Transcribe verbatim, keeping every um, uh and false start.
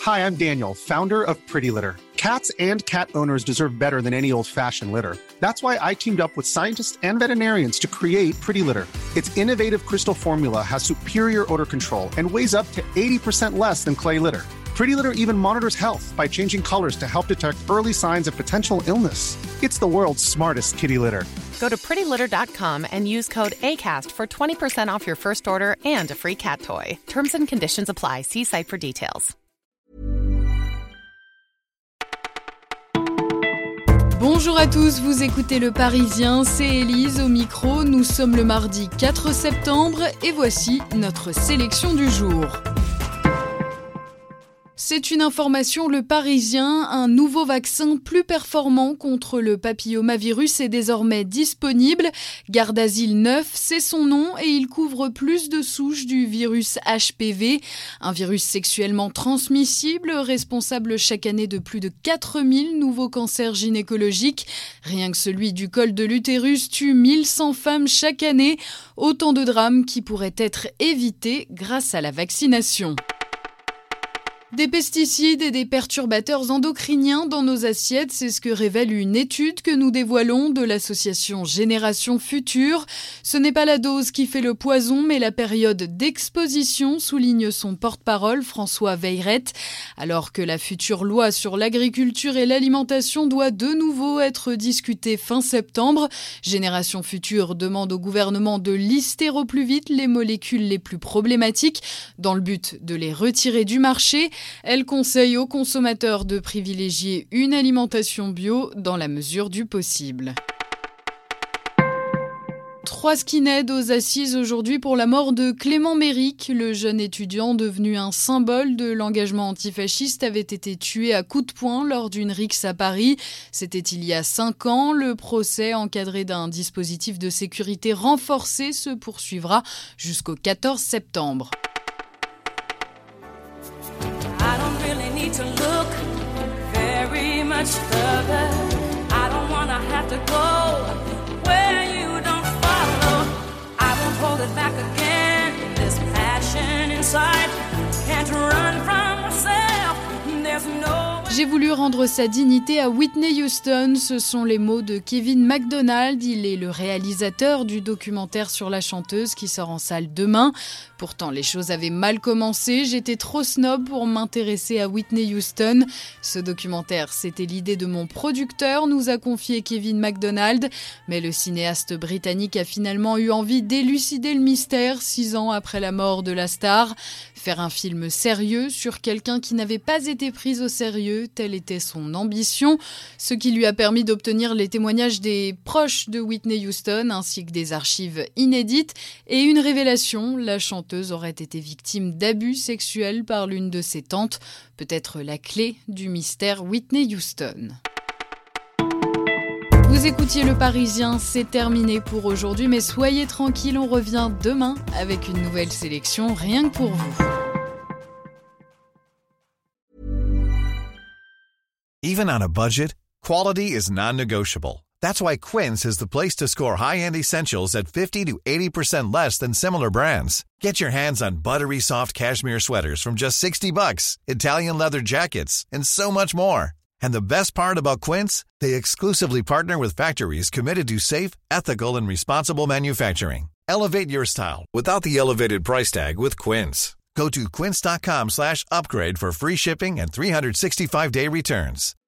Hi, I'm Daniel, founder of Pretty Litter. Cats and cat owners deserve better than any old-fashioned litter. That's why I teamed up with scientists and veterinarians to create Pretty Litter. Its innovative crystal formula has superior odor control and weighs up to eighty percent less than clay litter. Pretty Litter even monitors health by changing colors to help detect early signs of potential illness. It's the world's smartest kitty litter. Go to pretty litter dot com and use code ACAST for twenty percent off your first order and a free cat toy. Terms and conditions apply. See site for details. Bonjour à tous, vous écoutez Le Parisien, c'est Élise au micro. Nous sommes le mardi quatre septembre et voici notre sélection du jour. C'est une information, Le Parisien, un nouveau vaccin plus performant contre le papillomavirus est désormais disponible. Gardasil neuf, c'est son nom et il couvre plus de souches du virus H P V, un virus sexuellement transmissible responsable chaque année de plus de quatre mille nouveaux cancers gynécologiques. Rien que celui du col de l'utérus tue mille cent femmes chaque année, autant de drames qui pourraient être évités grâce à la vaccination. Des pesticides et des perturbateurs endocriniens dans nos assiettes, c'est ce que révèle une étude que nous dévoilons de l'association Génération Future. Ce n'est pas la dose qui fait le poison, mais la période d'exposition, souligne son porte-parole François Veillerette. Alors que la future loi sur l'agriculture et l'alimentation doit de nouveau être discutée fin septembre, Génération Future demande au gouvernement de lister au plus vite les molécules les plus problématiques dans le but de les retirer du marché. Elle conseille aux consommateurs de privilégier une alimentation bio dans la mesure du possible. Trois skinheads aux assises aujourd'hui pour la mort de Clément Méric. Le jeune étudiant devenu un symbole de l'engagement antifasciste avait été tué à coups de poing lors d'une rixe à Paris. C'était il y a cinq ans. Le procès, encadré d'un dispositif de sécurité renforcé, se poursuivra jusqu'au quatorze septembre. To look very much further. I don't wanna have to go where you don't follow. I won't hold it back again. This passion inside can't run from myself. There's no. J'ai voulu rendre sa dignité à Whitney Houston, ce sont les mots de Kevin MacDonald. Il est le réalisateur du documentaire sur la chanteuse qui sort en salle demain. Pourtant, les choses avaient mal commencé, j'étais trop snob pour m'intéresser à Whitney Houston. Ce documentaire, c'était l'idée de mon producteur, nous a confié Kevin MacDonald. Mais le cinéaste britannique a finalement eu envie d'élucider le mystère six ans après la mort de la star. Faire un film sérieux sur quelqu'un qui n'avait pas été pris au sérieux, telle était son ambition, ce qui lui a permis d'obtenir les témoignages des proches de Whitney Houston ainsi que des archives inédites et une révélation, la chanteuse aurait été victime d'abus sexuels par l'une de ses tantes, peut-être la clé du mystère Whitney Houston. Vous écoutiez Le Parisien, c'est terminé pour aujourd'hui, mais soyez tranquilles, on revient demain avec une nouvelle sélection rien que pour vous. Even on a budget, quality is non-negotiable. That's why Quince is the place to score high-end essentials at fifty to eighty percent less than similar brands. Get your hands on buttery soft cashmere sweaters from just sixty bucks, Italian leather jackets, and so much more. And the best part about Quince, they exclusively partner with factories committed to safe, ethical, and responsible manufacturing. Elevate your style without the elevated price tag with Quince. Go to quince.com slash upgrade for free shipping and three sixty-five day returns.